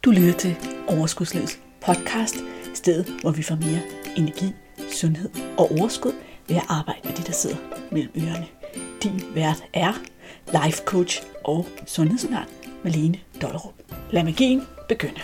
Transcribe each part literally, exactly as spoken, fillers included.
Du lytter til Overskudslivets podcast, stedet hvor vi får mere energi, sundhed og overskud ved at arbejde med de, der sidder mellem ørerne. Din vært er life coach og sundhedsundern Malene Dollerup. Lad magien begynde.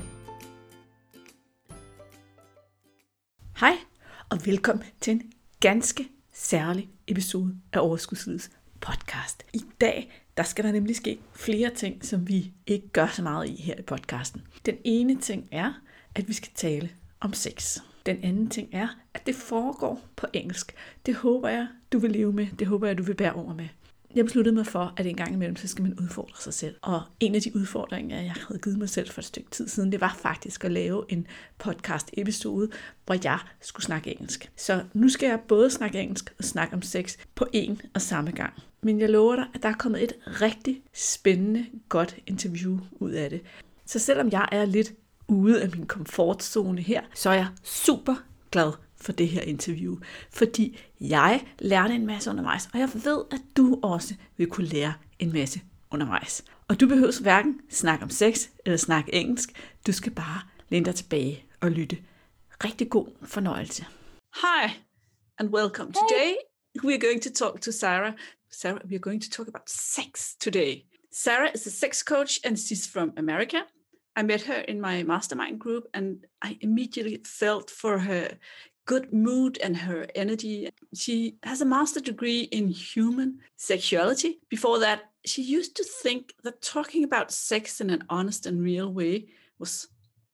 Hej og velkommen til en ganske særlig episode af Overskudslivets podcast. I dag der skal der nemlig ske flere ting, som vi ikke gør så meget i her i podcasten. Den ene ting er, at vi skal tale om sex. Den anden ting er, at det foregår på engelsk. Det håber jeg, du vil leve med. Det håber jeg, du vil bære over med. Jeg besluttede mig for, at en gang imellem, så skal man udfordre sig selv. Og en af de udfordringer, jeg havde givet mig selv for et stykke tid siden, det var faktisk at lave en podcast-episode, hvor jeg skulle snakke engelsk. Så nu skal jeg både snakke engelsk og snakke om sex på en og samme gang. Men jeg lover dig, at der er kommet et rigtig spændende, godt interview ud af det. Så selvom jeg er lidt ude af min komfortzone her, så er jeg super glad for det her interview, fordi jeg lærte en masse undervejs, og jeg ved, at du også vil kunne lære en masse undervejs. Og du behøver hverken snakke om sex eller snakke engelsk, du skal bare læne dig tilbage og lytte. Rigtig god fornøjelse. Hi and welcome. Hey. Today we are going to talk to Sarah. Sarah, we are going to talk about sex today. Sarah is a sex coach and she's from America. I met her in my mastermind group and I immediately felt for her good mood and her energy. She has a master degree in human sexuality. Before that, she used to think that talking about sex in an honest and real way was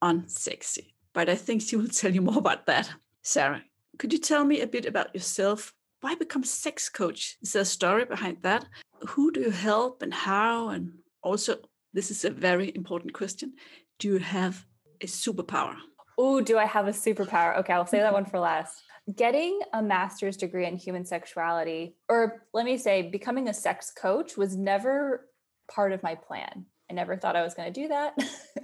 unsexy. But I think she will tell you more about that. Sarah, could you tell me a bit about yourself? Why become a sex coach? Is there a story behind that? Who do you help and how? And also, this is a very important question. Do you have a superpower? Oh, do I have a superpower? Okay, I'll say that one for last. Getting a master's degree in human sexuality, or let me say, becoming a sex coach was never part of my plan. I never thought I was going to do that.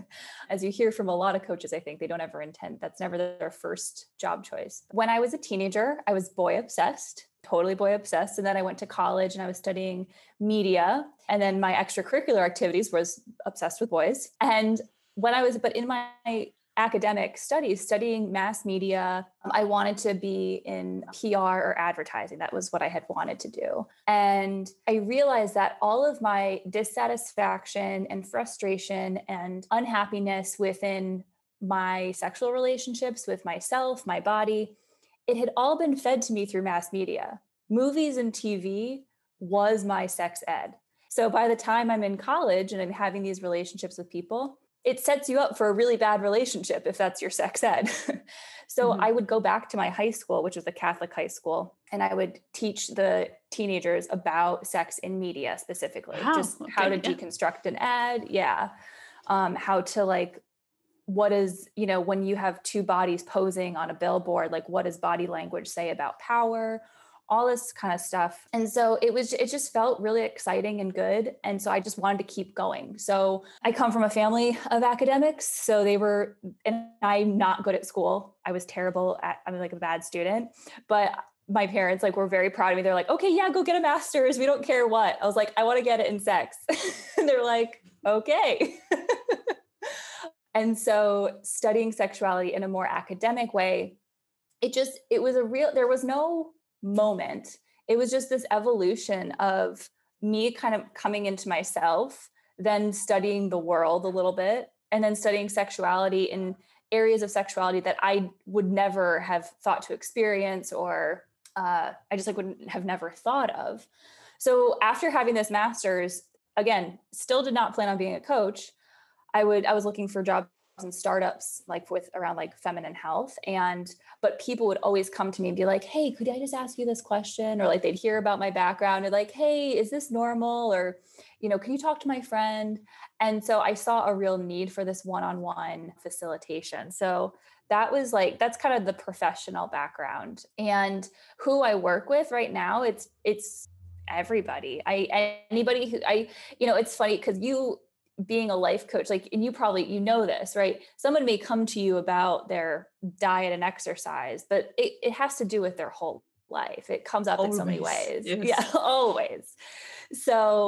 As you hear from a lot of coaches, I think they don't ever intend, that's never their first job choice. When I was a teenager, I was boy obsessed, totally boy obsessed. And then I went to college and I was studying media. And then my extracurricular activities was obsessed with boys. And when I was, but in my academic studies, studying mass media, I wanted to be in P R or advertising. That was what I had wanted to do. And I realized that all of my dissatisfaction and frustration and unhappiness within my sexual relationships with myself, my body, it had all been fed to me through mass media. Movies and T V was my sex ed. So by the time I'm in college and I'm having these relationships with people, it sets you up for a really bad relationship if that's your sex ed. So mm-hmm. I would go back to my high school, which was a Catholic high school, and I would teach the teenagers about sex in media specifically, wow. just okay. how to yeah. deconstruct an ad. Yeah. Um, how to like, what is, you know, when you have two bodies posing on a billboard, like what does body language say about power? All this kind of stuff. And so it was, it just felt really exciting and good. And so I just wanted to keep going. So I come from a family of academics. So they were, and I'm not good at school. I was terrible at, I'm like a bad student, but my parents like were very proud of me. They're like, okay, yeah, go get a master's. We don't care what. I was like, I want to get it in sex. And they're like, okay. And so studying sexuality in a more academic way, it just, it was a real, there was no moment. It was just this evolution of me kind of coming into myself, then studying the world a little bit, and then studying sexuality in areas of sexuality that I would never have thought to experience, or uh, I just like wouldn't have never thought of. So after having this master's, again, still did not plan on being a coach. I would, I was looking for jobs and startups like with around like feminine health. And, but people would always come to me and be like, hey, could I just ask you this question? Or like, they'd hear about my background and like, hey, is this normal? Or, you know, can you talk to my friend? And so I saw a real need for this one-on-one facilitation. So that was like, that's kind of the professional background. And who I work with right now, it's, it's everybody. I, anybody who I, you know, it's funny because you, being a life coach, like, and you probably, you know this, right? Someone may come to you about their diet and exercise, but it, it has to do with their whole life. It comes up always. In so many ways. Yes. Yeah, always. So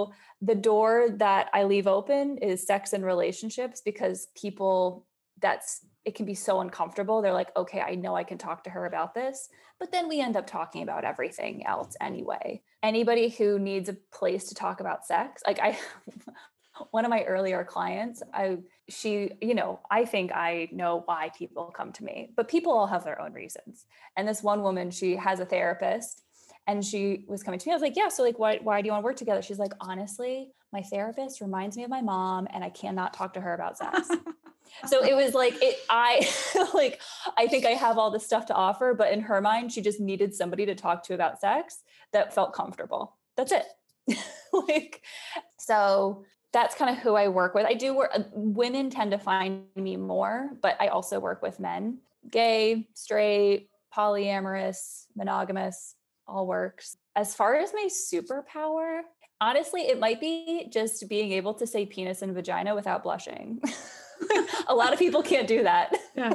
the door that I leave open is sex and relationships, because people, that's, it can be so uncomfortable. They're like, okay, I know I can talk to her about this, but then we end up talking about everything else anyway. Anybody who needs a place to talk about sex, like I, one of my earlier clients, I, she, you know, I think I know why people come to me, but people all have their own reasons. And this one woman, she has a therapist, and she was coming to me. I was like, yeah, so like, why, why do you want to work together? She's like, honestly, my therapist reminds me of my mom, and I cannot talk to her about sex. So it was like, it, I like, I think I have all this stuff to offer, but in her mind, she just needed somebody to talk to about sex that felt comfortable. That's it. Like, so that's kind of who I work with. I do work, women tend to find me more, but I also work with men, gay, straight, polyamorous, monogamous, all works. As far as my superpower, honestly, it might be just being able to say penis and vagina without blushing. A lot of people can't do that. Yeah.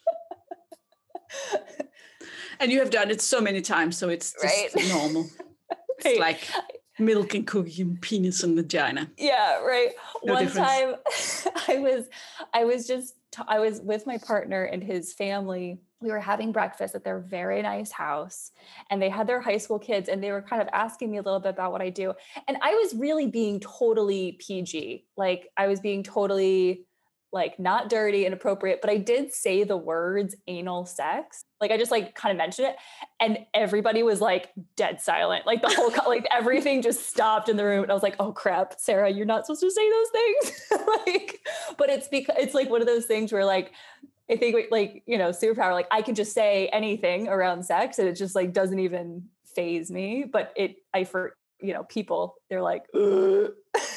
And you have done it so many times, so it's just right. normal. It's right. Like milk and cookie and penis and vagina. Yeah, right. No One difference. time I was, I was just, I was with my partner and his family. We were having breakfast at their very nice house, and they had their high school kids, and they were kind of asking me a little bit about what I do. And I was really being totally P G. Like I was being totally like not dirty and appropriate, but I did say the words anal sex. Like I just like kind of mentioned it, and everybody was like dead silent. Like the whole, like everything just stopped in the room. And I was like, oh crap, Sarah, you're not supposed to say those things. Like, but it's because it's like one of those things where like, I think like, you know, superpower, like I can just say anything around sex and it just like doesn't even faze me. But it, I, for, you know, people, they're like, ugh.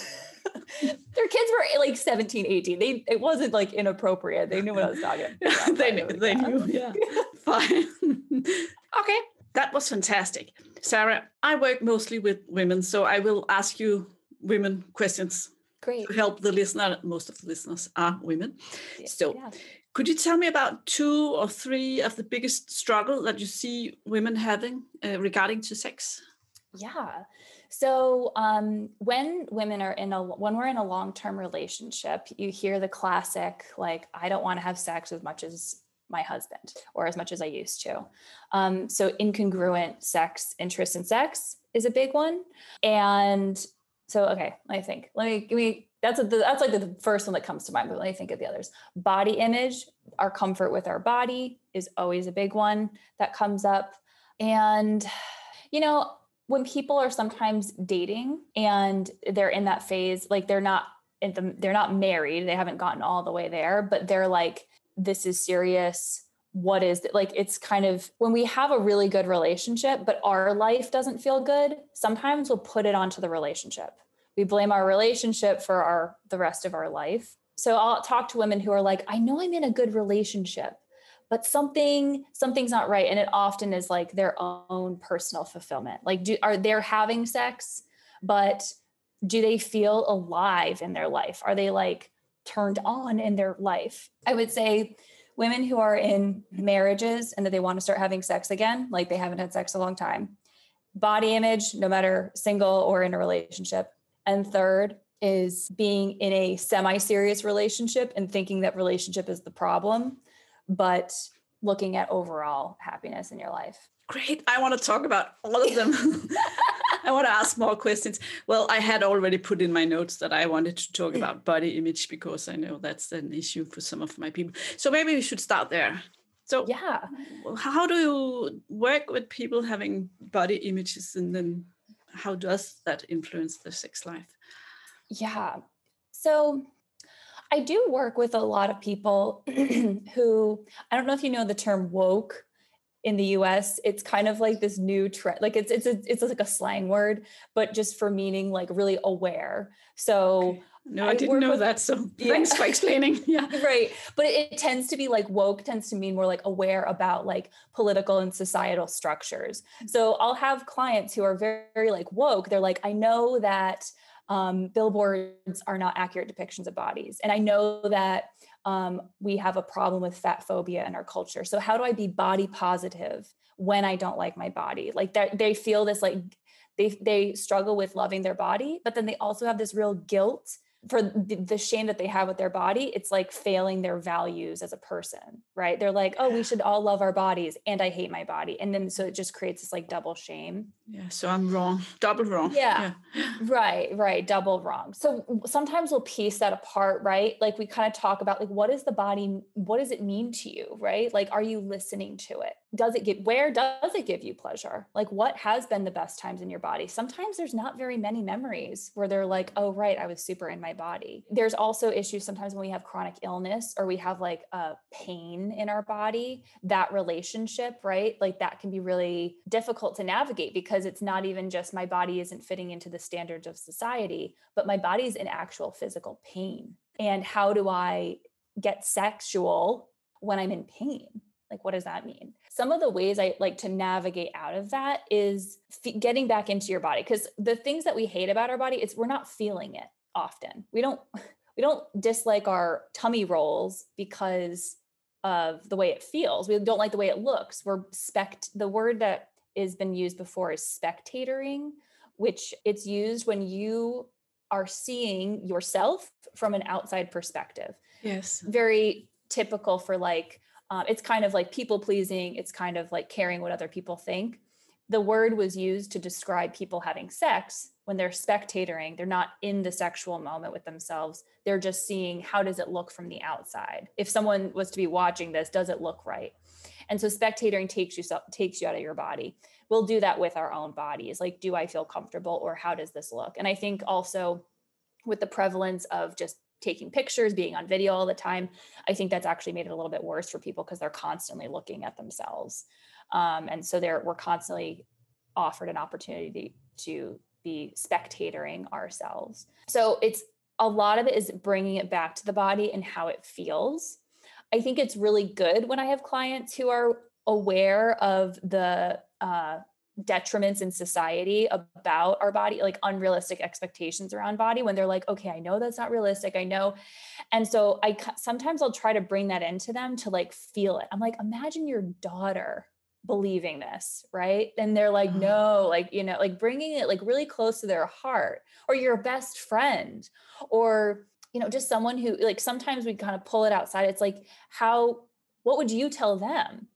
Their kids were like seventeen, eighteen. They, it wasn't like inappropriate. They knew what I was talking about. Yeah, they knew, they knew, yeah. Fine. Okay, that was fantastic. Sarah, I work mostly with women, so I will ask you women questions. Great. To help the listener. Most of the listeners are women. Yeah. So Yeah. Could you tell me about two or three of the biggest struggle that you see women having uh, regarding to sex? Yeah. So um, when women are in a, when we're in a long-term relationship, you hear the classic, like, I don't want to have sex as much as my husband or as much as I used to. Um, so incongruent sex, interest in sex is a big one. And so, okay, let me think, let me, give me, that's, a, that's like the first one that comes to mind, but let me think of the others. Body image, our comfort with our body is always a big one that comes up. And, you know, when people are sometimes dating and they're in that phase, like they're not in the, they're not married, they haven't gotten all the way there, but they're like, this is serious. What is it? Like, it's kind of when we have a really good relationship, but our life doesn't feel good. Sometimes we'll put it onto the relationship. We blame our relationship for our, the rest of our life. So I'll talk to women who are like, I know I'm in a good relationship, but something, something's not right. And it often is like their own personal fulfillment. Like, do, are they having sex, but do they feel alive in their life? Are they like turned on in their life? I would say women who are in marriages and that they want to start having sex again, like they haven't had sex a long time. Body image, no matter single or in a relationship. And third is being in a semi-serious relationship and thinking that relationship is the problem, but looking at overall happiness in your life. Great. I want to talk about all of them. I want to ask more questions. Well, I had already put in my notes that I wanted to talk about body image because I know that's an issue for some of my people. So maybe we should start there. So yeah, how do you work with people having body images, and then how does that influence their sex life? Yeah. So I do work with a lot of people who, I don't know if you know the term woke in the U S. It's kind of like this new trend. Like it's, it's, a, it's like a slang word, but just for meaning like really aware. So okay. No, I, I didn't know with, that. So yeah. Thanks for explaining. Yeah. Right. But it, it tends to be like woke tends to mean more like aware about like political and societal structures. So I'll have clients who are very, very like woke. They're like, I know that um, billboards are not accurate depictions of bodies. And I know that um, we have a problem with fat phobia in our culture. So how do I be body positive when I don't like my body? Like that, they feel this like they, they struggle with loving their body, but then they also have this real guilt for the, the shame that they have with their body. It's like failing their values as a person, right? They're like, oh, we should all love our bodies, and I hate my body. And then, so it just creates this like double shame. Yeah. So I'm wrong, double wrong. Yeah. yeah. Right. Right. Double wrong. So sometimes we'll piece that apart, right? Like we kind of talk about like, what is the body? What does it mean to you? Right? Like, are you listening to it? Does it get, where does it give you pleasure? Like what has been the best times in your body? Sometimes there's not very many memories where they're like, oh, right, I was super in my body. There's also issues sometimes when we have chronic illness or we have like a pain in our body, that relationship, right? Like that can be really difficult to navigate because it's not even just my body isn't fitting into the standards of society, but my body's in actual physical pain. And how do I get sexual when I'm in pain? Like, what does that mean? Some of the ways I like to navigate out of that is f- getting back into your body. Because the things that we hate about our body, it's we're not feeling it often. We don't, we don't dislike our tummy rolls because of the way it feels. We don't like the way it looks. We're spect, the word that has been used before is spectatoring, which it's used when you are seeing yourself from an outside perspective. Yes. Very typical for like, Um, it's kind of like people pleasing. It's kind of like caring what other people think. The word was used to describe people having sex when they're spectatoring. They're not in the sexual moment with themselves. They're just seeing, how does it look from the outside? If someone was to be watching this, does it look right? And so spectatoring takes you, takes you out of your body. We'll do that with our own bodies. Like, do I feel comfortable, or how does this look? And I think also with the prevalence of just taking pictures, being on video all the time, I think that's actually made it a little bit worse for people because they're constantly looking at themselves. Um, and so they're, we're constantly offered an opportunity to be spectatoring ourselves. So it's a lot of it is bringing it back to the body and how it feels. I think it's really good when I have clients who are aware of the uh, detriments in society about our body, like unrealistic expectations around body, when they're like, okay, I know that's not realistic. I know. And so I sometimes I'll try to bring that into them to like feel it. I'm like, imagine your daughter believing this, right? And they're like, no, like, you know, like bringing it like really close to their heart, or your best friend, or, you know, just someone who like, sometimes we kind of pull it outside. It's like, how, what would you tell them?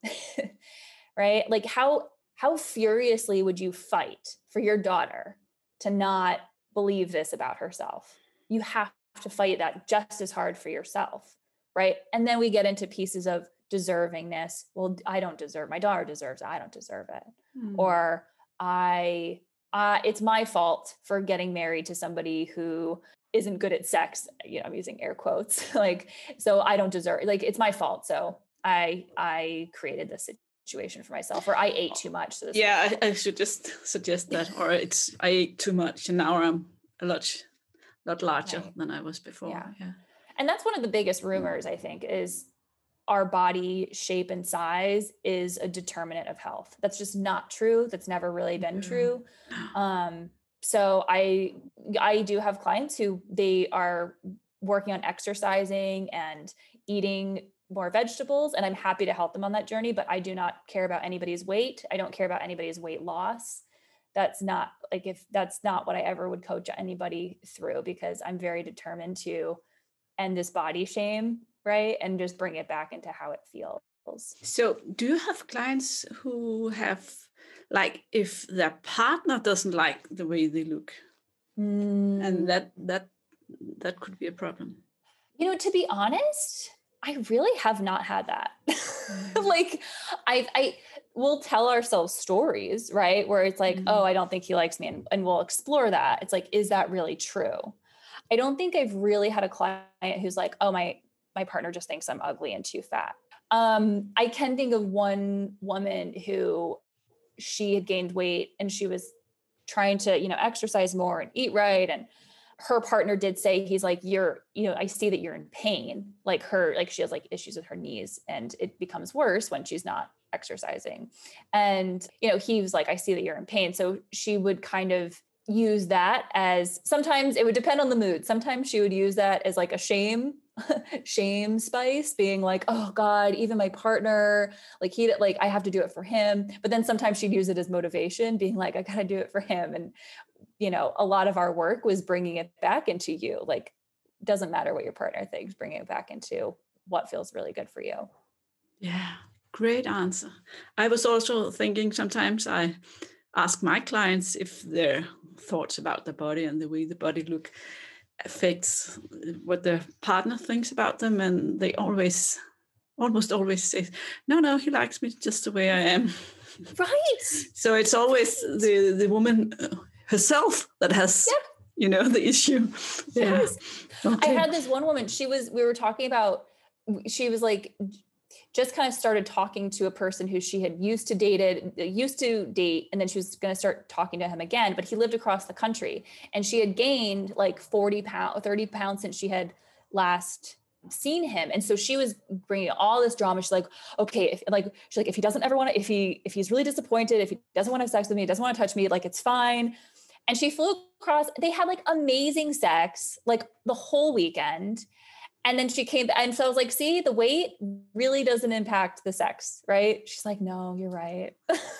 Right? Like how, how furiously would you fight for your daughter to not believe this about herself? You have to fight that just as hard for yourself, right? And then we get into pieces of deservingness. Well, I don't deserve, my daughter deserves it, I don't deserve it. Mm. Or I, uh, it's my fault for getting married to somebody who isn't good at sex. You know, I'm using air quotes, like, so I don't deserve, like, it's my fault. So I, I created this situation for myself, or I ate too much. So this yeah, I, I should just suggest that, or it's, I ate too much and now I'm a lot, lot larger right. than I was before. Yeah. yeah. And that's one of the biggest rumors, I think, is our body shape and size is a determinant of health. That's just not true. That's never really been true. Um, so I, I do have clients who they are working on exercising and eating more vegetables, and I'm happy to help them on that journey, but I do not care about anybody's weight. I don't care about anybody's weight loss. That's not like, if that's not what I ever would coach anybody through, because I'm very determined to end this body shame, right? And just bring it back into how it feels. So do you have clients who have, like, if their partner doesn't like the way they look, mm. and that, that, that could be a problem? You know, to be honest, I really have not had that. Mm. Like I, I will tell ourselves stories, right? Where it's like, mm. oh, I don't think he likes me. And, and we'll explore that. It's like, is that really true? I don't think I've really had a client who's like, oh, my, my partner just thinks I'm ugly and too fat. Um, I can think of one woman who she had gained weight and she was trying to, you know, exercise more and eat right. And her partner did say, he's like, you're, you know, I see that you're in pain. Like her, like she has like issues with her knees and it becomes worse when she's not exercising. And, you know, he was like, I see that you're in pain. So she would kind of use that as, sometimes it would depend on the mood. Sometimes she would use that as like a shame, shame spice, being like, oh God, even my partner, like he, like I have to do it for him. But then sometimes she'd use it as motivation, being like, I gotta do it for him. And, you know, a lot of our work was bringing it back into you. Like, doesn't matter what your partner thinks, bringing it back into what feels really good for you. Yeah, great answer. I was also thinking sometimes I ask my clients if their thoughts about the body and the way the body look affects what their partner thinks about them, and they always, almost always say, no, no, he likes me just the way I am. Right. So it's always the, the woman herself that has, yep. you know, the issue. Yes. Yeah. Okay. I had this one woman, she was, we were talking about, she was like, just kind of started talking to a person who she had used to dated, used to date, and then she was going to start talking to him again, but he lived across the country, and she had gained like forty pounds, thirty pounds since she had last seen him. And so she was bringing all this drama. She's like, okay, if, like, she's like, if he doesn't ever want to, if he, if he's really disappointed, if he doesn't want to have sex with me, doesn't want to touch me, like, it's fine. And she flew across, they had like amazing sex, like the whole weekend. And then she came, and so I was like, see, the weight really doesn't impact the sex, right? She's like, no, you're right.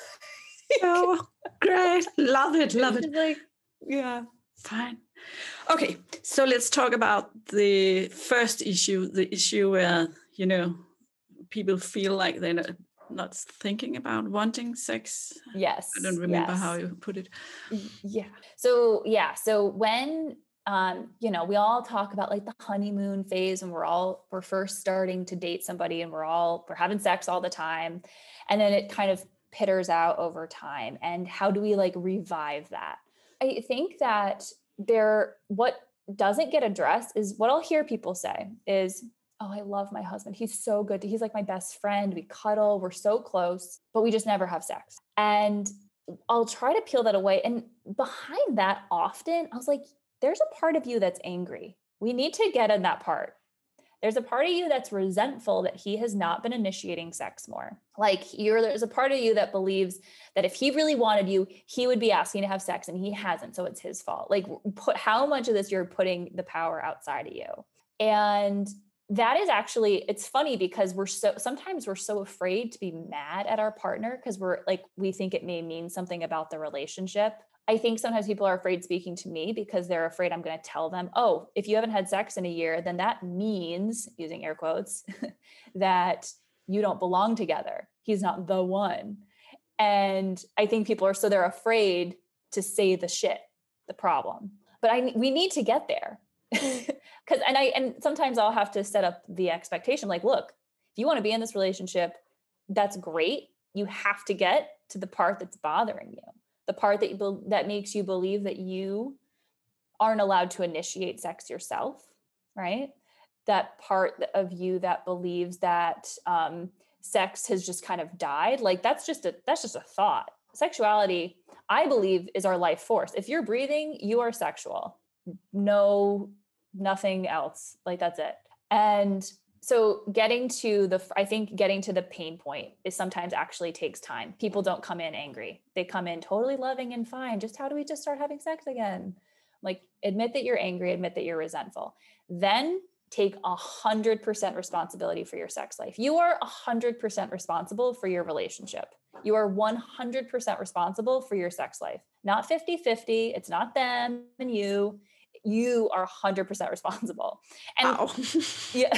Oh, great. Love it. Love it. She's like, yeah. Fine. Okay. So let's talk about the first issue, the issue where, you know, people feel like they're not, not thinking about wanting sex. Yes. I don't remember yes. how you put it. Yeah. So, yeah. So when, Um, you know, we all talk about like the honeymoon phase, and we're all, we're first starting to date somebody, and we're all, we're having sex all the time. And then it kind of pitters out over time. And how do we like revive that? I think that there, what doesn't get addressed is what I'll hear people say is, oh, I love my husband. He's so good. He's like my best friend. We cuddle, we're so close, but we just never have sex. And I'll try to peel that away. And behind that often, I was like, there's a part of you that's angry. We need to get in that part. There's a part of you that's resentful that he has not been initiating sex more. Like you're, there's a part of you that believes that if he really wanted you, he would be asking to have sex, and he hasn't. So it's his fault. Like put how much of this you're putting the power outside of you. And that is actually, it's funny because we're so, sometimes we're so afraid to be mad at our partner because we're like, we think it may mean something about the relationship. I think sometimes people are afraid speaking to me because they're afraid I'm going to tell them, oh, if you haven't had sex in a year, then that means, using air quotes, that you don't belong together. He's not the one. And I think people are, so they're afraid to say the shit, the problem. But I, we need to get there. Cause, and I, and sometimes I'll have to set up the expectation, like, look, if you want to be in this relationship, that's great. You have to get to the part that's bothering you. The part that you, that makes you believe that you aren't allowed to initiate sex yourself, right? That part of you that believes that um, sex has just kind of died. Like that's just a, that's just a thought. Sexuality, I believe, is our life force. If you're breathing, you are sexual. No, nothing else. Like that's it. And so getting to the, I think getting to the pain point is sometimes actually takes time. People don't come in angry. They come in totally loving and fine. Just how do we just start having sex again? Like admit that you're angry, admit that you're resentful. Then take a hundred percent responsibility for your sex life. You are a hundred percent responsible for your relationship. You are one hundred percent responsible for your sex life, not fifty-fifty. It's not them and you. You are one hundred percent responsible. And wow. yeah.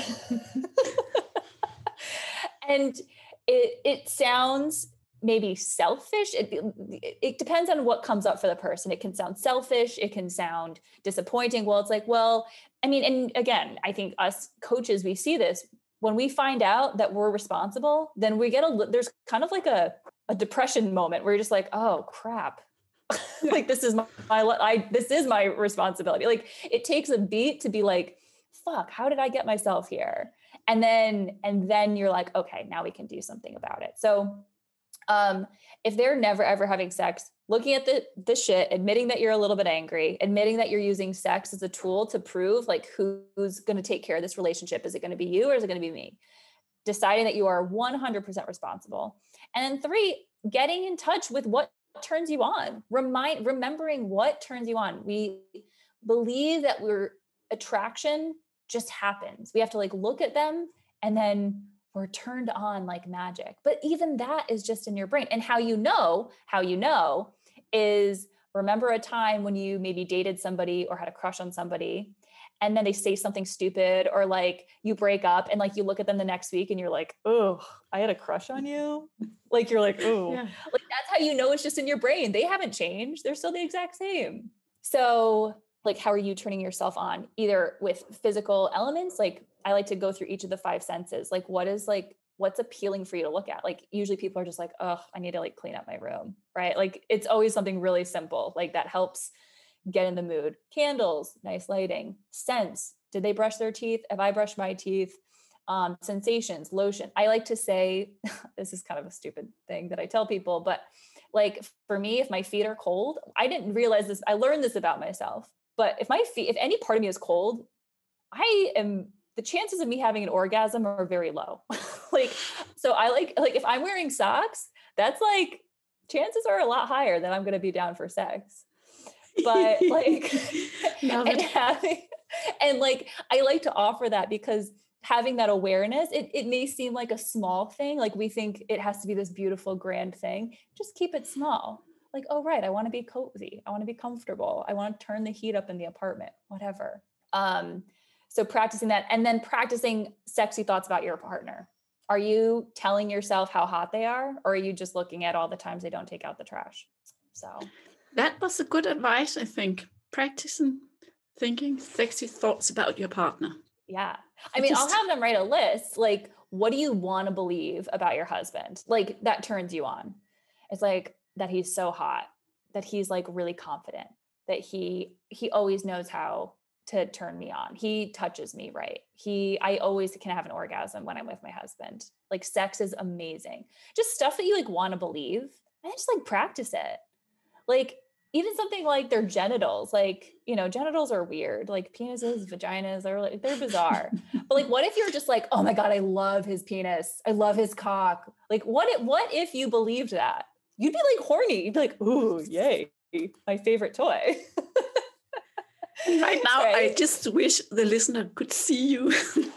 And it it sounds maybe selfish. It, it depends on what comes up for the person. It can sound selfish. It can sound disappointing. Well, it's like, well, I mean, and again, I think us coaches, we see this when we find out that we're responsible, then we get a, there's kind of like a, a depression moment where you're just like, oh crap. Like, this is my, my, I, this is my responsibility. Like it takes a beat to be like, fuck, how did I get myself here? And then, and then you're like, okay, now we can do something about it. So, um, if they're never, ever having sex, looking at the, the shit, admitting that you're a little bit angry, admitting that you're using sex as a tool to prove like, who's going to take care of this relationship? Is it going to be you or is it going to be me? Deciding that you are one hundred percent responsible. And then three, getting in touch with what turns you on. Remind, remembering what turns you on. We believe that we're attraction just happens. We have to like look at them and then we're turned on like magic. But even that is just in your brain. And how you know, how you know is remember a time when you maybe dated somebody or had a crush on somebody and then they say something stupid or like you break up and like you look at them the next week and you're like, oh, I had a crush on you. Like, you're like, oh, yeah. Like that's how you know it's just in your brain. They haven't changed. They're still the exact same. So like, how are you turning yourself on? Either with physical elements, like I like to go through each of the five senses. Like what is like, what's appealing for you to look at? Like usually people are just like, oh, I need to like clean up my room, right? Like it's always something really simple. Like that helps get in the mood. Candles, nice lighting. Scents. Did they brush their teeth? Have I brushed my teeth? Um, sensations, lotion. I like to say, this is kind of a stupid thing that I tell people, but like for me, if my feet are cold, I didn't realize this. I learned this about myself, but if my feet, if any part of me is cold, I am, the chances of me having an orgasm are very low. Like, so I like, like if I'm wearing socks, that's like, chances are a lot higher that I'm going to be down for sex. But like, and having, and like, I like to offer that because having that awareness, it, it may seem like a small thing. Like we think it has to be this beautiful, grand thing. Just keep it small. Like, oh, right. I want to be cozy. I want to be comfortable. I want to turn the heat up in the apartment, whatever. Um, so practicing that and then practicing sexy thoughts about your partner. Are you telling yourself how hot they are? Or are you just looking at all the times they don't take out the trash? So that was a good advice, I think. Practicing thinking sexy thoughts about your partner. Yeah. I mean, just, I'll have them write a list. Like, what do you want to believe about your husband? Like that turns you on. It's like that he's so hot, that he's like really confident, that he, he always knows how to turn me on. He touches me right. He, I always can have an orgasm when I'm with my husband. Like sex is amazing. Just stuff that you like want to believe and just like practice it. Like even something like their genitals, like, you know, genitals are weird, like penises, vaginas, they're like, they're bizarre. But like, what if you're just like, oh my God, I love his penis. I love his cock. Like what, if, what if you believed that? You'd be like horny. You'd be like, ooh, yay. My favorite toy. Right now, right? I just wish the listener could see you.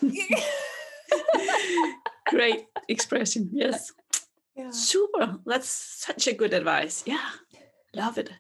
Great expression. Yes. Yeah. Super. That's such a good advice. Yeah. Love it.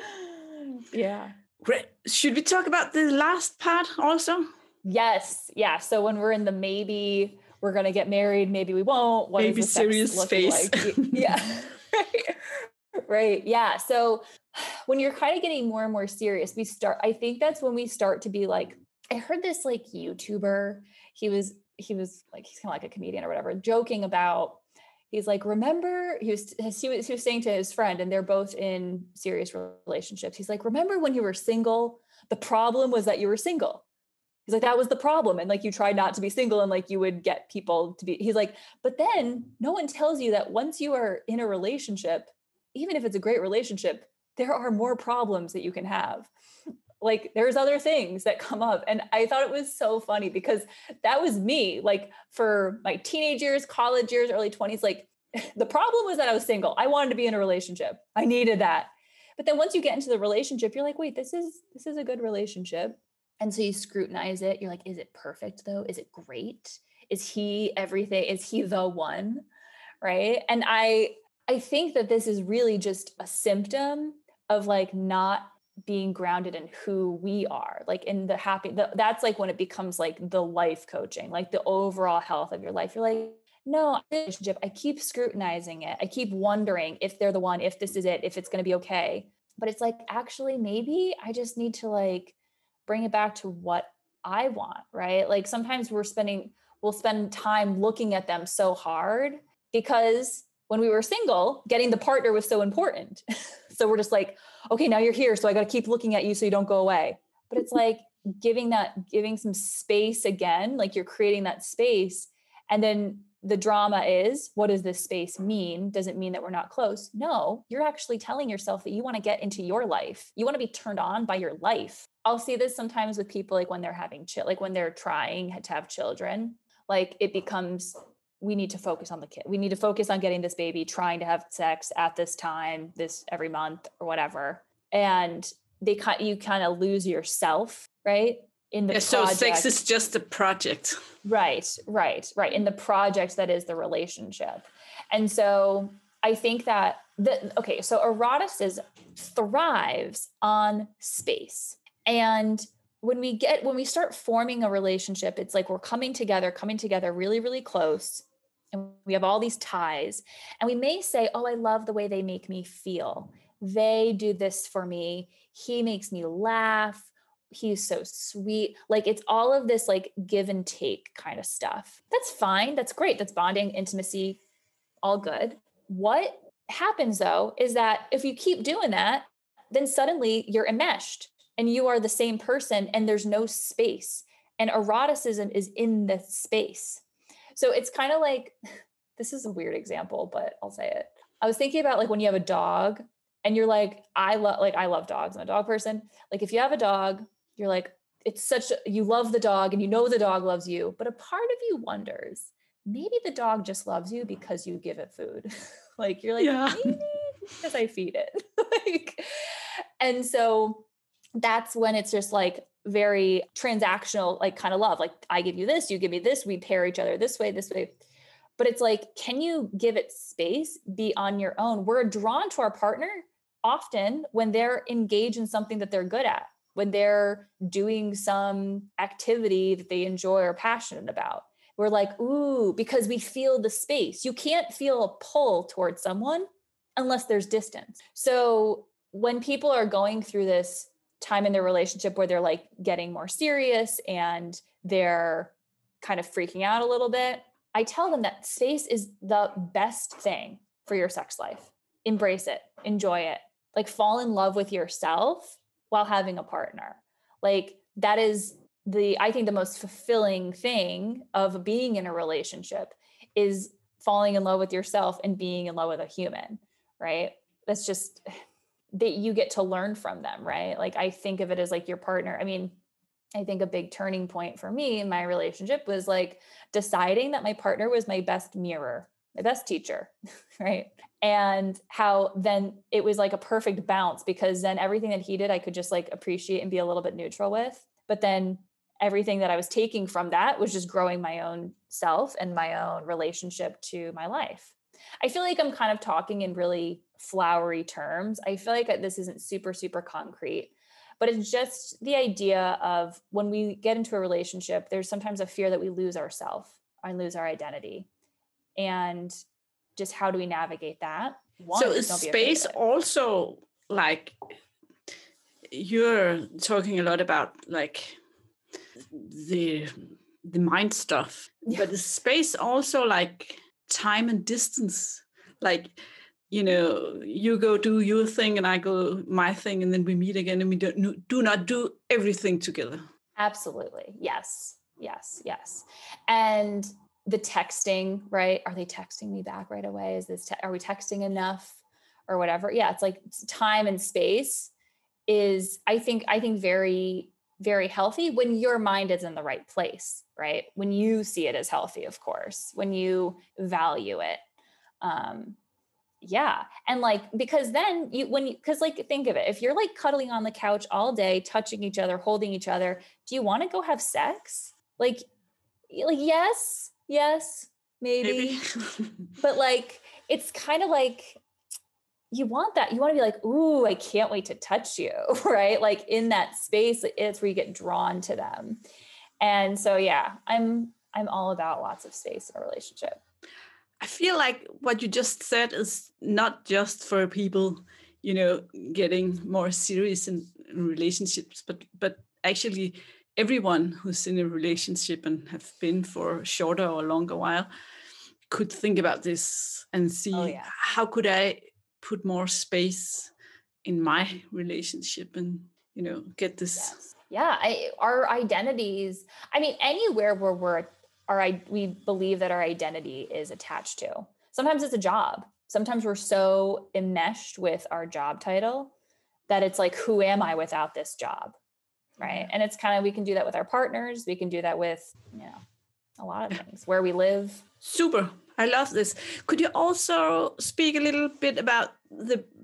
Yeah. Great. Should we talk about the last part also? Yes. Yeah. So when we're in the maybe we're going to get married, maybe we won't. What maybe is the serious sex face. Like? Yeah. Right. Right. Yeah. So when you're kind of getting more and more serious, we start, I think that's when we start to be like, I heard this like YouTuber, he was, he was like, he's kind of like a comedian or whatever, joking about, he's like, remember, he was, he was, he was saying to his friend, and they're both in serious relationships. He's like, remember when you were single, the problem was that you were single. He's like, that was the problem. And like, you tried not to be single and like, you would get people to be, he's like, but then no one tells you that once you are in a relationship, even if it's a great relationship, there are more problems that you can have. Like there's other things that come up. And I thought it was so funny because that was me, like for my teenage years, college years, early twenties, like the problem was that I was single. I wanted to be in a relationship. I needed that. But then once you get into the relationship, you're like, wait, this is, this is a good relationship. And so you scrutinize it. You're like, is it perfect though? Is it great? Is he everything? Is he the one? Right. And I, I think that this is really just a symptom of like not being grounded in who we are, like in the happy, the, that's like when it becomes like the life coaching, like the overall health of your life. You're like, no, relationship, I keep scrutinizing it. I keep wondering if they're the one, if this is it, if it's going to be okay. But it's like, actually, maybe I just need to like bring it back to what I want, right? Like sometimes we're spending, we'll spend time looking at them so hard because when we were single, getting the partner was so important. So we're just like, okay, now you're here. So I got to keep looking at you so you don't go away. But it's like giving that, giving some space again, like you're creating that space. And then the drama is, what does this space mean? Does it mean that we're not close? No, you're actually telling yourself that you want to get into your life. You want to be turned on by your life. I'll see this sometimes with people, like when they're having, ch- like when they're trying to have children, like it becomes, we need to focus on the kid. We need to focus on getting this baby, trying to have sex at this time, this every month or whatever. And they kind you kind of lose yourself, right? in the yeah, project. So sex is just a project. Right, right, right. In the project that is the relationship. And so I think that, the, okay, so eroticism thrives on space. And when we get, when we start forming a relationship, it's like we're coming together, coming together really, really close. And we have all these ties. And we may say, oh, I love the way they make me feel. They do this for me. He makes me laugh. He's so sweet. Like it's all of this like give and take kind of stuff. That's fine. That's great. That's bonding, intimacy, all good. What happens though, is that if you keep doing that, then suddenly you're enmeshed and you are the same person and there's no space, and eroticism is in the space. So it's kind of like, this is a weird example, but I'll say it. I was thinking about like when you have a dog and you're like, I love, like, I love dogs. I'm a dog person. Like if you have a dog, you're like, it's such a, you love the dog and you know the dog loves you, but a part of you wonders, maybe the dog just loves you because you give it food. Like you're like, yeah. Maybe because I feed it. Like, and so that's when it's just like very transactional, like kind of love. Like I give you this, you give me this, we pair each other this way, this way. But it's like, can you give it space, be on your own? We're drawn to our partner often when they're engaged in something that they're good at, when they're doing some activity that they enjoy or passionate about. We're like, ooh, because we feel the space. You can't feel a pull towards someone unless there's distance. So when people are going through this time in their relationship where they're like getting more serious and they're kind of freaking out a little bit, I tell them that space is the best thing for your sex life. Embrace it, enjoy it, like fall in love with yourself while having a partner. Like that is the, I think the most fulfilling thing of being in a relationship is falling in love with yourself and being in love with a human, right? That's just that you get to learn from them, right? Like I think of it as like your partner. I mean, I think a big turning point for me in my relationship was like deciding that my partner was my best mirror, my best teacher, right? And how then it was like a perfect bounce, because then everything that he did, I could just like appreciate and be a little bit neutral with. But then everything that I was taking from that was just growing my own self and my own relationship to my life. I feel like I'm kind of talking in really flowery terms. I feel like this isn't super, super concrete, but it's just the idea of when we get into a relationship, there's sometimes a fear that we lose ourselves and lose our identity. And just how do we navigate that? One, so is space also like, you're talking a lot about like the the mind stuff, yeah. But is space also like time and distance? Like, you know, you go do your thing and I go my thing, and then we meet again and we don't, do not do everything together. Absolutely. Yes. Yes. Yes. And the texting, right? Are they texting me back right away? Is this, te- are we texting enough or whatever? Yeah. It's like time and space is, I think, I think very, very healthy when your mind is in the right place, right? When you see it as healthy, of course, when you value it. Um, yeah. And like, because then you, when you, cause like, think of it, if you're like cuddling on the couch all day, touching each other, holding each other, do you want to go have sex? Like, like, yes, yes, maybe, maybe. But like, it's kind of like, you want that. You want to be like, ooh, I can't wait to touch you, right? Like in that space, it's where you get drawn to them. And so, yeah, I'm, I'm all about lots of space in a relationship. I feel like what you just said is not just for people, you know, getting more serious in, in relationships, but but actually everyone who's in a relationship and have been for a shorter or longer while could think about this and see, oh, yeah. How could I put more space in my relationship and, you know, get this. Yes. Yeah. I, our identities, I mean, anywhere where we're Our, we believe that our identity is attached to. Sometimes it's a job. Sometimes we're so enmeshed with our job title that it's like, who am I without this job? Right. And it's kind of, we can do that with our partners. We can do that with, you know, a lot of things, where we live. Super. I love this. Could you also speak a little bit about the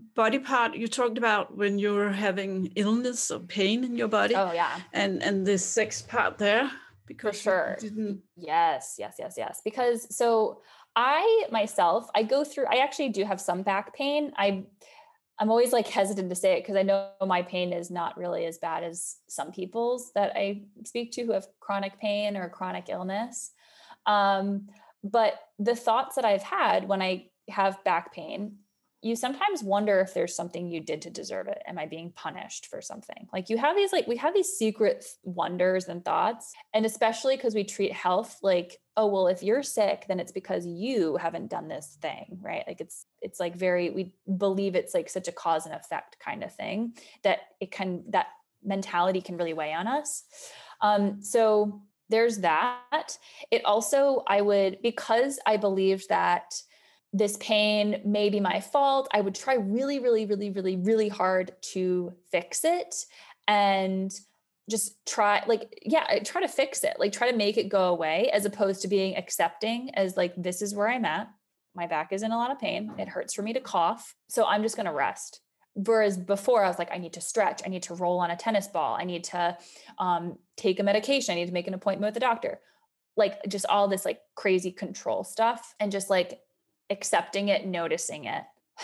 body part you talked about when you're having illness or pain in your body. Oh yeah. And and the sex part there, because for sure. you didn't. Yes, yes, yes, yes. Because so I myself, I go through, I actually do have some back pain. I I'm always like hesitant to say it because I know my pain is not really as bad as some people's that I speak to who have chronic pain or chronic illness. Um, but the thoughts that I've had when I have back pain, you sometimes wonder if there's something you did to deserve it. Am I being punished for something? Like you have these, like we have these secret wonders and thoughts. And especially because we treat health like, oh, well, if you're sick, then it's because you haven't done this thing, right? Like it's, it's like very, we believe it's like such a cause and effect kind of thing that it can, that mentality can really weigh on us. Um, so there's that. It also, I would, because I believed that this pain may be my fault, I would try really, really, really, really, really hard to fix it and just try like, yeah, I try to fix it, like try to make it go away as opposed to being accepting as like, this is where I'm at. My back is in a lot of pain. It hurts for me to cough. So I'm just going to rest. Whereas before I was like, I need to stretch. I need to roll on a tennis ball. I need to um, take a medication. I need to make an appointment with the doctor. Like just all this like crazy control stuff and just like accepting it, noticing it.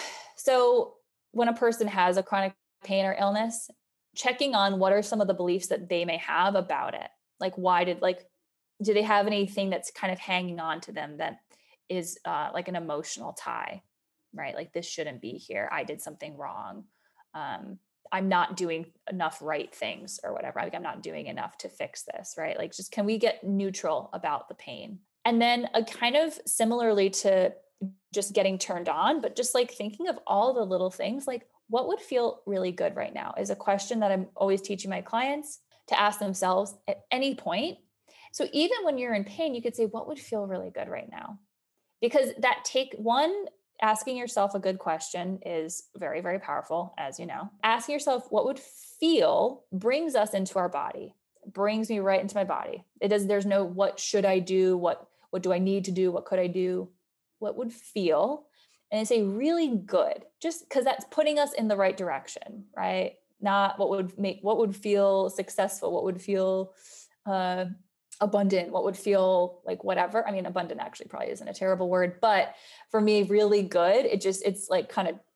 So when a person has a chronic pain or illness, checking on what are some of the beliefs that they may have about it. Like, why did, like, do they have anything that's kind of hanging on to them that is uh, like an emotional tie, right? Like this shouldn't be here. I did something wrong. Um, I'm not doing enough right things or whatever. Like I'm not doing enough to fix this, right? Like just, can we get neutral about the pain? And then a kind of similarly to just getting turned on, but just like thinking of all the little things, like what would feel really good right now is a question that I'm always teaching my clients to ask themselves at any point. So even when you're in pain, you could say, what would feel really good right now? Because that take one, asking yourself a good question is very, very powerful, as you know. Asking yourself what would feel brings us into our body, brings me right into my body. It does, there's no, what should I do? What, what do I need to do? What could I do? What would feel, and I say really good, just because that's putting us in the right direction, right? Not what would make, what would feel successful, what would feel uh, abundant, what would feel like whatever. I mean, abundant actually probably isn't a terrible word, but for me, really good. It just, it's like kind of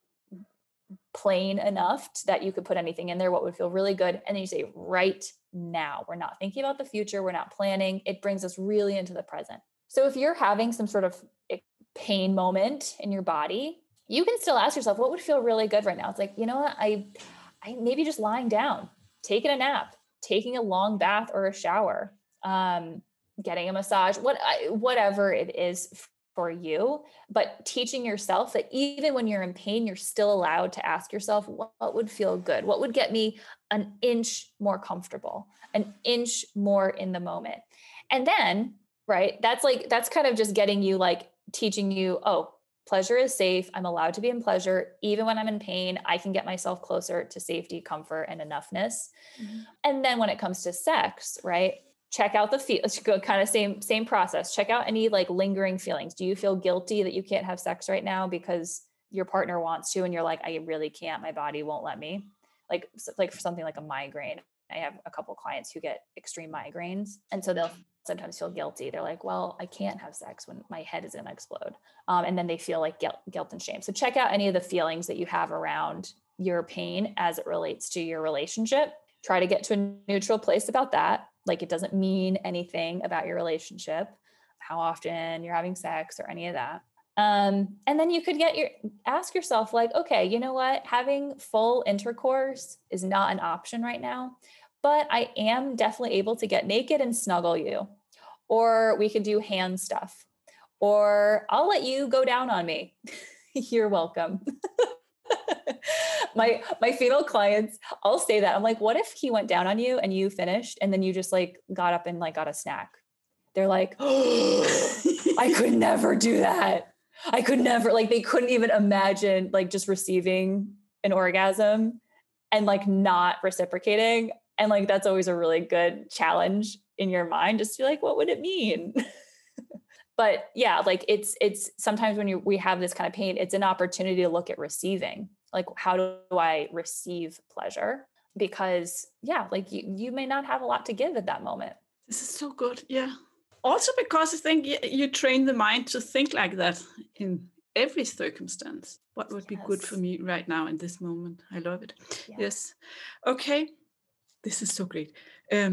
plain enough that you could put anything in there. What would feel really good. And then you say right now, we're not thinking about the future. We're not planning. It brings us really into the present. So if you're having some sort of pain moment in your body, you can still ask yourself, what would feel really good right now? It's like, you know what? I, I maybe just lying down, taking a nap, taking a long bath or a shower, um, getting a massage, what, whatever it is for you, but teaching yourself that even when you're in pain, you're still allowed to ask yourself, what, what would feel good? What would get me an inch more comfortable, an inch more in the moment? And then, right, that's like, that's kind of just getting you like, teaching you, oh, pleasure is safe. I'm allowed to be in pleasure. Even when I'm in pain, I can get myself closer to safety, comfort, and enoughness. Mm-hmm. And then when it comes to sex, right, check out the feel, let's go kind of same, same process. Check out any like lingering feelings. Do you feel guilty that you can't have sex right now because your partner wants to, and you're like, I really can't, my body won't let me? Like, like for something like a migraine. I have a couple of clients who get extreme migraines. And so they'll sometimes feel guilty. They're like, well, I can't have sex when my head is going to explode. Um, and then they feel like guilt, guilt and shame. So check out any of the feelings that you have around your pain as it relates to your relationship. Try to get to a neutral place about that. Like it doesn't mean anything about your relationship, how often you're having sex or any of that. Um, and then you could get your, ask yourself like, okay, you know what? Having full intercourse is not an option right now, but I am definitely able to get naked and snuggle you, or we could do hand stuff, or I'll let you go down on me. You're welcome. my, my female clients, I'll say that. I'm like, what if he went down on you and you finished and then you just like got up and like got a snack? They're like, oh, I could never do that. I could never, like, they couldn't even imagine like just receiving an orgasm and like not reciprocating. And like, that's always a really good challenge in your mind, just to be like, what would it mean? But yeah, like it's, it's sometimes when you, we have this kind of pain, it's an opportunity to look at receiving. Like, how do I receive pleasure? Because yeah, like you, you may not have a lot to give at that moment. This is so good. Yeah. Also because I think you train the mind to think like that in every circumstance. What would yes. be good for me right now in this moment? I love it. Yeah. Yes. Okay. This is so great. Um,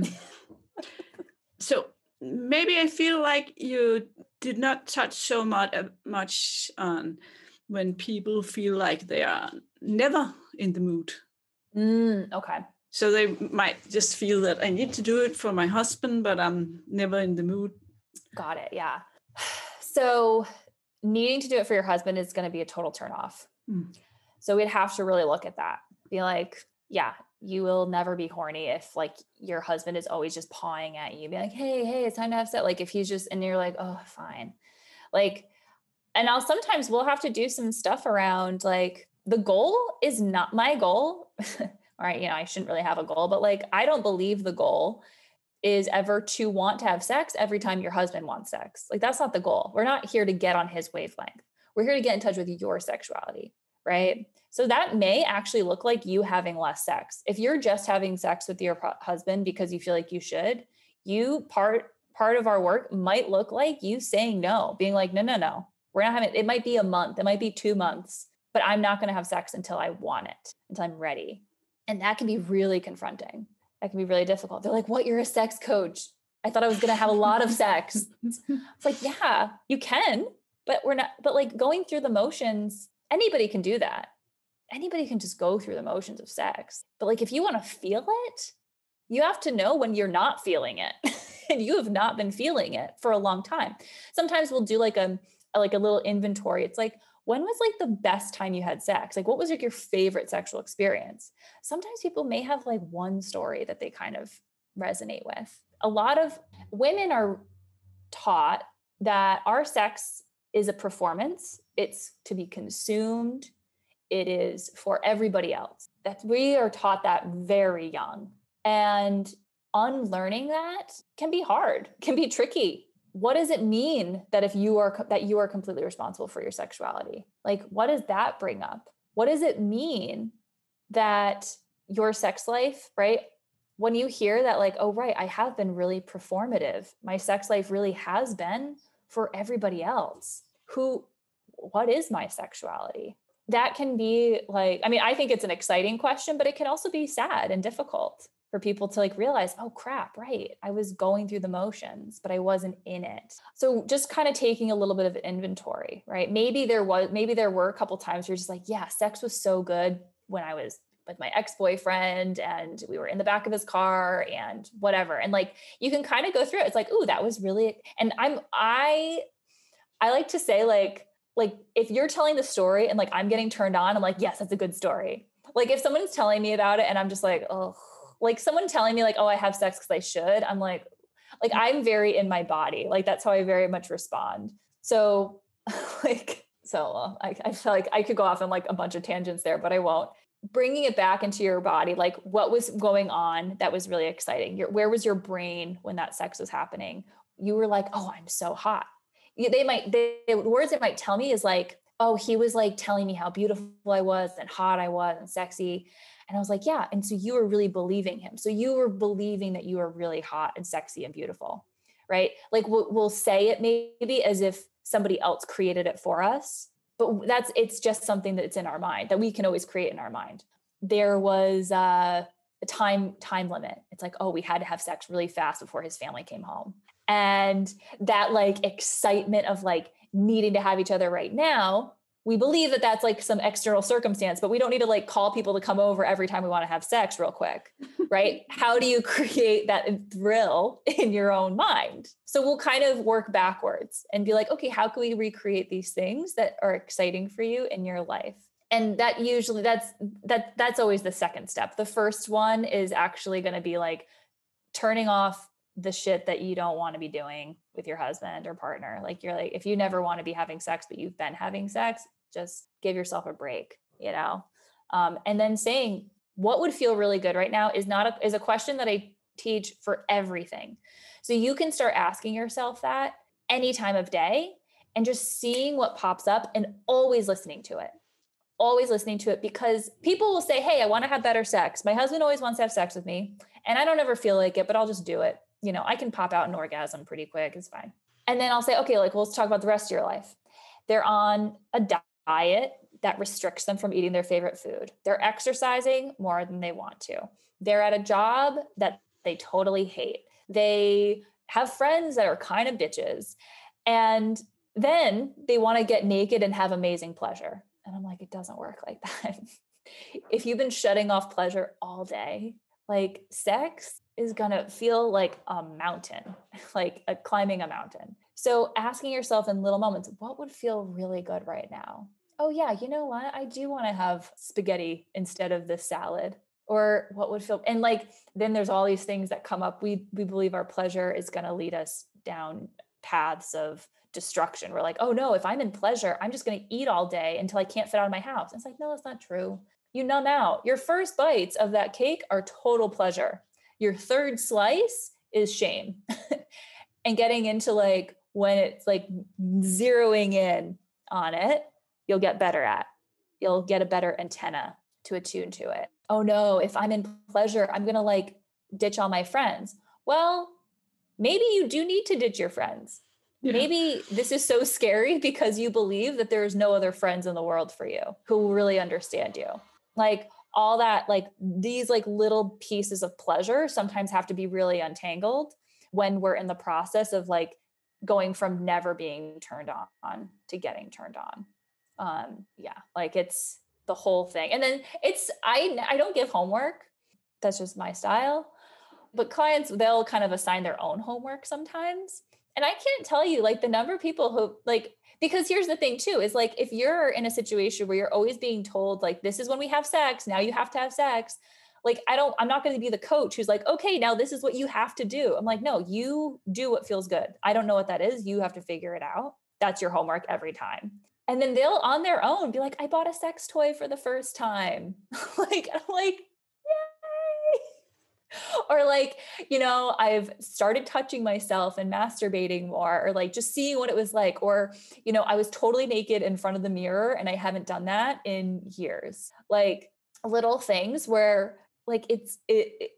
so maybe I feel like you did not touch so much, uh, much on when people feel like they are never in the mood. Mm, okay. So they might just feel that I need to do it for my husband, but I'm never in the mood. Got it. Yeah. So needing to do it for your husband is going to be a total turnoff. Mm. So we'd have to really look at that. Be like, yeah, you will never be horny if like your husband is always just pawing at you. Be like, hey, hey, it's time to have sex. Like if he's just, and you're like, oh, fine. Like, and I'll sometimes we'll have to do some stuff around like the goal is not my goal. All right, you know, I shouldn't really have a goal, but like, I don't believe the goal is ever to want to have sex every time your husband wants sex. Like, that's not the goal. We're not here to get on his wavelength. We're here to get in touch with your sexuality, right? So that may actually look like you having less sex. If you're just having sex with your husband because you feel like you should, you part, part of our work might look like you saying no, being like, no, no, no, we're not having, it might be a month, it might be two months, but I'm not going to have sex until I want it, until I'm ready. And that can be really confronting. That can be really difficult. They're like, what, you're a sex coach? I thought I was going to have a lot of sex. It's like, yeah, you can, but we're not, but like going through the motions, anybody can do that. Anybody can just go through the motions of sex. But like, if you want to feel it, you have to know when you're not feeling it and you have not been feeling it for a long time. Sometimes we'll do like a, like a little inventory. It's like, when was like the best time you had sex? Like, what was like your favorite sexual experience? Sometimes people may have like one story that they kind of resonate with. A lot of women are taught that our sex is a performance. It's to be consumed. It is for everybody else. That we are taught that very young. And unlearning that can be hard, can be tricky. What does it mean that if you are, that you are completely responsible for your sexuality? Like, what does that bring up? What does it mean that your sex life, right? When you hear that, like, oh, right, I have been really performative. My sex life really has been for everybody else. Who, what is my sexuality? That can be like, I mean, I think it's an exciting question, but it can also be sad and difficult for people to like realize, oh crap, right. I was going through the motions, but I wasn't in it. So just kind of taking a little bit of inventory, right? Maybe there was, maybe there were a couple times where you're just like, yeah, sex was so good when I was with my ex-boyfriend and we were in the back of his car and whatever. And like, you can kind of go through it. It's like, ooh, that was really, and I'm, I, I like to say like, like if you're telling the story and like, I'm getting turned on, I'm like, yes, that's a good story. Like if someone's telling me about it and I'm just like, oh, like someone telling me like, oh, I have sex because I should. I'm like, like I'm very in my body. Like that's how I very much respond. So like, so uh, I, I feel like I could go off on like a bunch of tangents there, but I won't. Bringing it back into your body, like what was going on that was really exciting? Your, where was your brain when that sex was happening? You were like, oh, I'm so hot. They might, they, the words it might tell me is like, oh, he was like telling me how beautiful I was and hot I was and sexy. And I was like, yeah. And so you were really believing him. So you were believing that you were really hot and sexy and beautiful, right? Like we'll, we'll say it maybe as if somebody else created it for us, but that's, it's just something that's in our mind that we can always create in our mind. There was uh, a time, time limit. It's like, oh, we had to have sex really fast before his family came home. And that like excitement of like needing to have each other right now, we believe that that's like some external circumstance, but we don't need to like call people to come over every time we want to have sex real quick, right? How do you create that thrill in your own mind? So we'll kind of work backwards and be like, okay, how can we recreate these things that are exciting for you in your life? And that usually that's, that that's always the second step. The first one is actually going to be like turning off the shit that you don't want to be doing with your husband or partner. Like you're like, if you never want to be having sex, but you've been having sex, just give yourself a break, you know? Um, and then saying what would feel really good right now is not a, is a question that I teach for everything. So you can start asking yourself that any time of day and just seeing what pops up and always listening to it. always listening to it, because people will say, hey, I want to have better sex. My husband always wants to have sex with me and I don't ever feel like it, but I'll just do it. You know, I can pop out an orgasm pretty quick. It's fine. And then I'll say, okay, like, well, let's talk about the rest of your life. They're on a diet that restricts them from eating their favorite food. They're exercising more than they want to. They're at a job that they totally hate. They have friends that are kind of bitches. And then they want to get naked and have amazing pleasure. And I'm like, it doesn't work like that. If you've been shutting off pleasure all day, like sex is going to feel like a mountain, like a climbing a mountain. So asking yourself in little moments, what would feel really good right now? Oh yeah, you know what? I do want to have spaghetti instead of this salad. Or what would feel, and like, then there's all these things that come up. We, we believe our pleasure is going to lead us down paths of destruction. We're like, oh no, if I'm in pleasure, I'm just going to eat all day until I can't fit out of my house. And it's like, no, that's not true. You numb out. Your first bites of that cake are total pleasure. Your third slice is shame. And getting into like, when it's like zeroing in on it, you'll get better at, you'll get a better antenna to attune to it. Oh no, if I'm in pleasure, I'm going to like ditch all my friends. Well, maybe you do need to ditch your friends. Yeah. Maybe this is so scary because you believe that there's no other friends in the world for you who will really understand you. Like all that, like these like little pieces of pleasure sometimes have to be really untangled when we're in the process of like going from never being turned on to getting turned on. Um, yeah, like it's the whole thing. And then it's, I, I don't give homework. That's just my style, but clients, they'll kind of assign their own homework sometimes. And I can't tell you like the number of people who like, because here's the thing too, is like, if you're in a situation where you're always being told like, this is when we have sex, now you have to have sex. Like, I don't, I'm not going to be the coach who's like, okay, now this is what you have to do. I'm like, no, you do what feels good. I don't know what that is. You have to figure it out. That's your homework every time. And then they'll on their own be like, I bought a sex toy for the first time. Like, I'm like, yay. Or like, you know, I've started touching myself and masturbating more, or like just seeing what it was like. Or, you know, I was totally naked in front of the mirror and I haven't done that in years. Like little things where like it's, it, it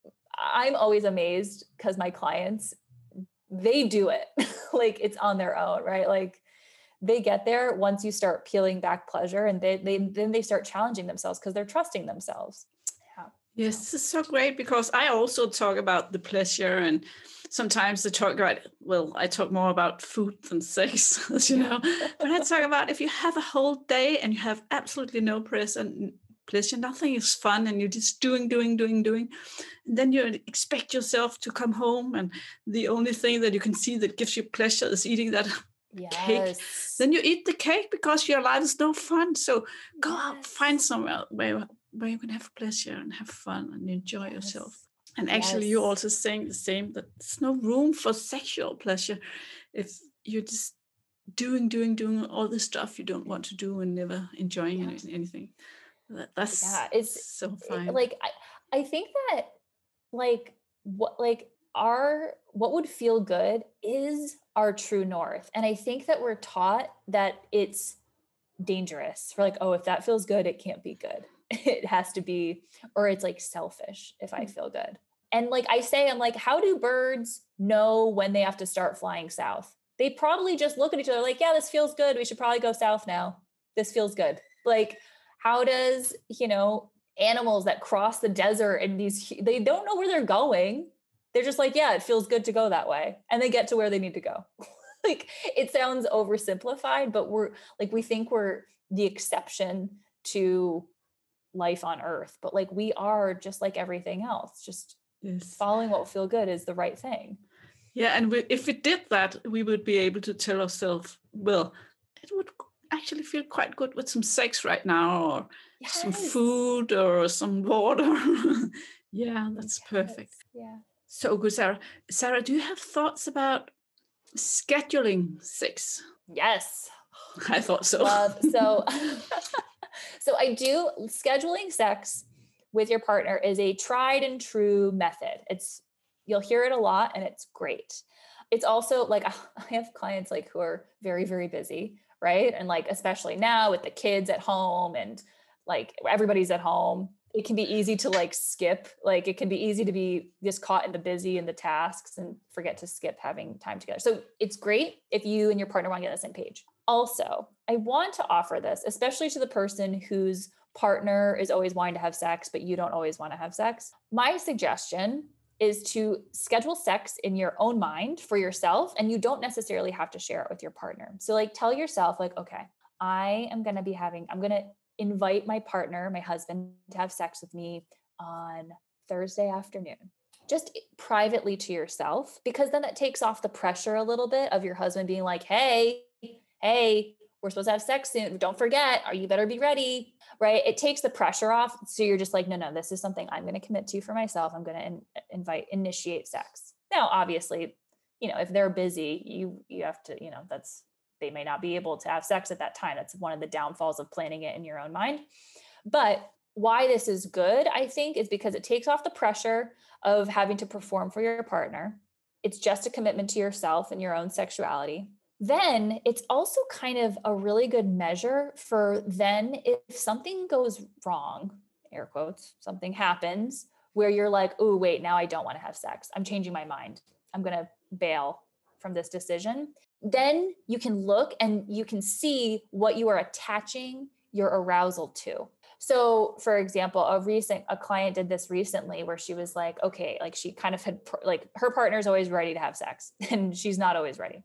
I'm always amazed because my clients, they do it. Like it's on their own, right? Like, they get there once you start peeling back pleasure, and they, they then they start challenging themselves because they're trusting themselves. Yeah. Yes, this is so great because I also talk about the pleasure, and sometimes I talk about, well, I talk more about food than sex, as you know, but I talk about if you have a whole day and you have absolutely no pleasure, pleasure, nothing is fun, and you're just doing, doing, doing, doing, and then you expect yourself to come home, and the only thing that you can see that gives you pleasure is eating that yes. cake. Then you eat the cake because your life is no fun. So go yes. out, find somewhere where, where you can have pleasure and have fun and enjoy yes. yourself. And actually, yes. you're also saying the same, that there's no room for sexual pleasure if you're just doing, doing, doing all the stuff you don't want to do and never enjoying yeah. any, anything. That, that's yeah, it's so fine. Like I, I think that like what like our what would feel good is our true north. And I think that we're taught that it's dangerous. We're like, oh, if that feels good, it can't be good. It has to be, or it's like selfish if I feel good. And like I say, I'm like, how do birds know when they have to start flying south? They probably just look at each other like, yeah, this feels good. We should probably go south now. This feels good. Like, how does, you know, animals that cross the desert and these, they don't know where they're going. They're just like, yeah, it feels good to go that way. And they get to where they need to go. Like, it sounds oversimplified, but we're like, we think we're the exception to life on earth, but like, we are just like everything else. Just yes. following what will feel good is the right thing. Yeah. And we, if we did that, we would be able to tell ourselves, well, it would actually feel quite good with some sex right now, or yes. some food or some water. Yeah, that's yes. perfect. Yeah. So good, Sarah. Sarah, do you have thoughts about scheduling sex? Yes. I thought so. Love. So, so I do scheduling sex with your partner is a tried and true method. It's, you'll hear it a lot and it's great. it's also like, I have clients like who are very, very busy, right? And like, especially now with the kids at home and like everybody's at home, it can be easy to like skip, like it can be easy to be just caught in the busy and the tasks and forget to skip having time together. So it's great if you and your partner want to get on the same page. Also, I want to offer this, especially to the person whose partner is always wanting to have sex, but you don't always want to have sex. My suggestion is to schedule sex in your own mind for yourself, and you don't necessarily have to share it with your partner. So like tell yourself like, okay, I am going to be having, I'm going to invite my partner, my husband, to have sex with me on Thursday afternoon, just privately to yourself, because then that takes off the pressure a little bit of your husband being like, hey, hey, we're supposed to have sex soon. Don't forget, or you better be ready, right? It takes the pressure off. So you're just like, no, no, this is something I'm going to commit to for myself. I'm going to in- invite, initiate sex. Now, obviously, you know, if they're busy, you, you have to, you know, that's, they may not be able to have sex at that time. That's one of the downfalls of planning it in your own mind. But why this is good, I think, is because it takes off the pressure of having to perform for your partner. It's just a commitment to yourself and your own sexuality. Then it's also kind of a really good measure for then if something goes wrong, air quotes, something happens where you're like, oh, wait, now I don't want to have sex. I'm changing my mind. I'm going to bail from this decision. Then you can look and you can see what you are attaching your arousal to. So for example, a recent, a client did this recently where she was like, okay, like she kind of had like her partner's always ready to have sex and she's not always ready.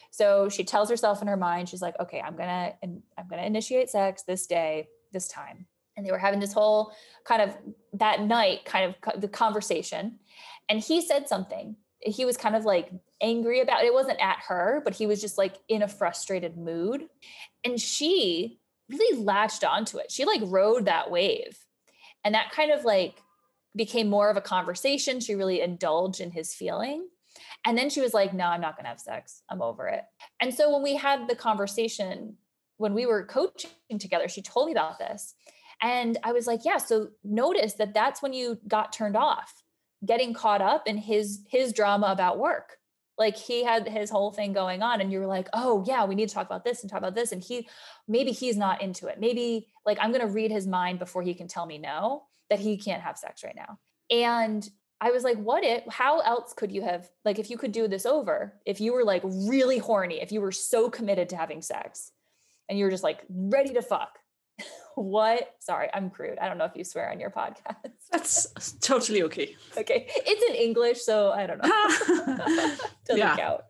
So she tells herself in her mind, she's like, okay, I'm going to, I'm going to initiate sex this day, this time. And they were having this whole kind of that night, kind of the conversation. And he said something. He was kind of like angry about it. It wasn't at her, but he was just like in a frustrated mood. And she really latched onto it. She like rode that wave. And that kind of like became more of a conversation. She really indulged in his feeling. And then she was like, no, I'm not going to have sex. I'm over it. And so when we had the conversation, when we were coaching together, she told me about this. And I was like, yeah, so notice that that's when you got turned off, getting caught up in his, his drama about work. Like he had his whole thing going on and you were like, oh yeah, we need to talk about this and talk about this. And he, maybe he's not into it. Maybe like, I'm going to read his mind before he can tell me no, that he can't have sex right now. And I was like, what if, how else could you have, like, if you could do this over, if you were like really horny, if you were so committed to having sex and you were just like ready to fuck, what, sorry, I'm crude. I don't know if you swear on your podcast. That's totally okay. Okay. It's in English, so I don't know. Doesn't yeah. count.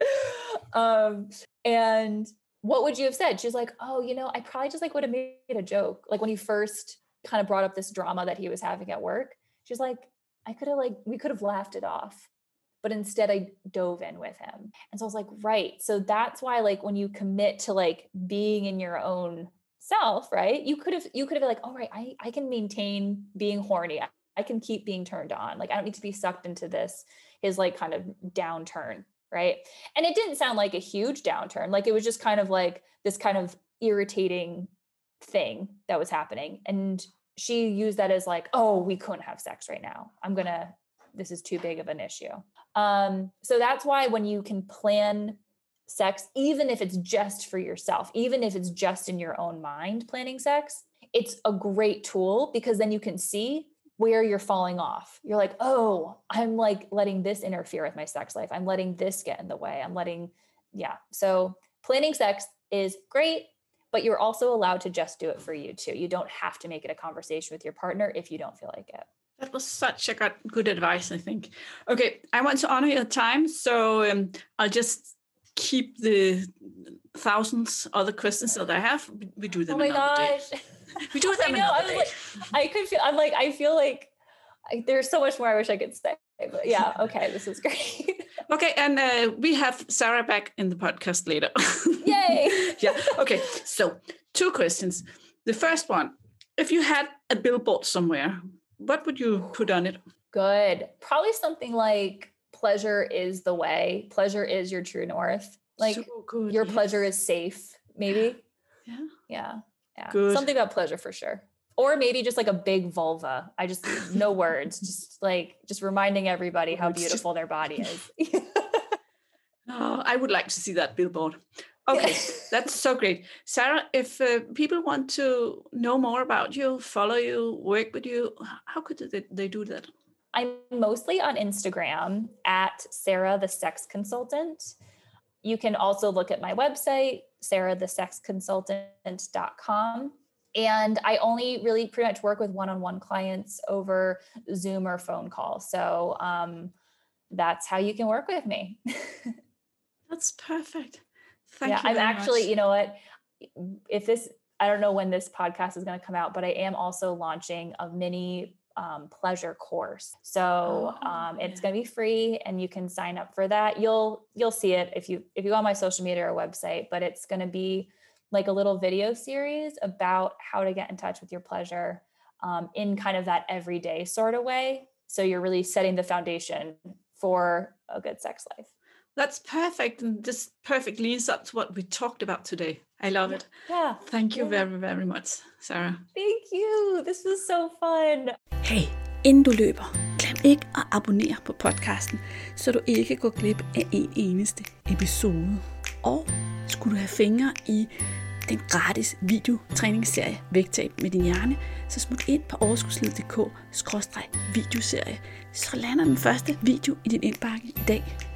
Um, and what would you have said? She's like, oh, you know, I probably just like would have made a joke. Like when he first kind of brought up this drama that he was having at work, she's like, I could have like, we could have laughed it off, but instead I dove in with him. And so I was like, right. So that's why like when you commit to like being in your own self, right? You could have, you could have been like, all right, I, I can maintain being horny. I, I can keep being turned on. Like, I don't need to be sucked into this, his like kind of downturn. Right. And it didn't sound like a huge downturn. Like it was just kind of like this kind of irritating thing that was happening. And she used that as like, oh, we couldn't have sex right now. I'm going to, this is too big of an issue. Um, so that's why when you can plan sex, even if it's just for yourself, even if it's just in your own mind, planning sex, it's a great tool because then you can see where you're falling off. You're like, oh, I'm like letting this interfere with my sex life. I'm letting this get in the way. I'm letting, yeah. So planning sex is great, but you're also allowed to just do it for you too. You don't have to make it a conversation with your partner if you don't feel like it. That was such a good advice, I think. Okay, I want to honor your time, so um, I'll just keep the thousands other questions that I have. We do them oh my another gosh. day. We do them I know, another I was day. Like, I could feel, I'm like, I feel like I, there's so much more I wish I could say, but yeah, okay, this is great. Okay, and uh, we have Sarah back in the podcast later. Yay! Yeah, okay, so two questions. The first one, if you had a billboard somewhere, what would you put on it? Good. Probably something like pleasure is the way. Pleasure is your true north. Like so good, your yes. pleasure is safe, maybe. Yeah. Yeah. Yeah. Good. Something about pleasure for sure. Or maybe just like a big vulva. I just, no words, just like, just reminding everybody how beautiful their body is. Oh, I would like to see that billboard. Okay, that's so great. Sarah, if uh, people want to know more about you, follow you, work with you, how could they, they do that? I'm mostly on Instagram at Sarah the Sex Consultant. You can also look at my website, sarah the sex consultant dot com. And I only really pretty much work with one-on-one clients over Zoom or phone call. So um, that's how you can work with me. That's perfect. Thank yeah, you. I'm very actually, much. you know what, if this, I don't know when this podcast is going to come out, but I am also launching a mini um, pleasure course. So Oh, um, it's yeah. going to be free and you can sign up for that. You'll, you'll see it if you, if you go on my social media or website, but it's going to be like a little video series about how to get in touch with your pleasure um, in kind of that everyday sort of way. So you're really setting the foundation for a good sex life. That's perfect. And this perfect leads up to what we talked about today. I love it. Yeah. Thank you yeah. very, very much, Sarah. Thank you. This was so fun. Hey, inden du løber, glem ikke at abonnere på podcasten, så du ikke går glip af en eneste episode. Og skulle du have fingre i den gratis videotræningsserie Vægtab med din hjerne, så smut ind på overskudslivet punktum d k skråstreg videoserie, så lander den første video i din indbakke i dag.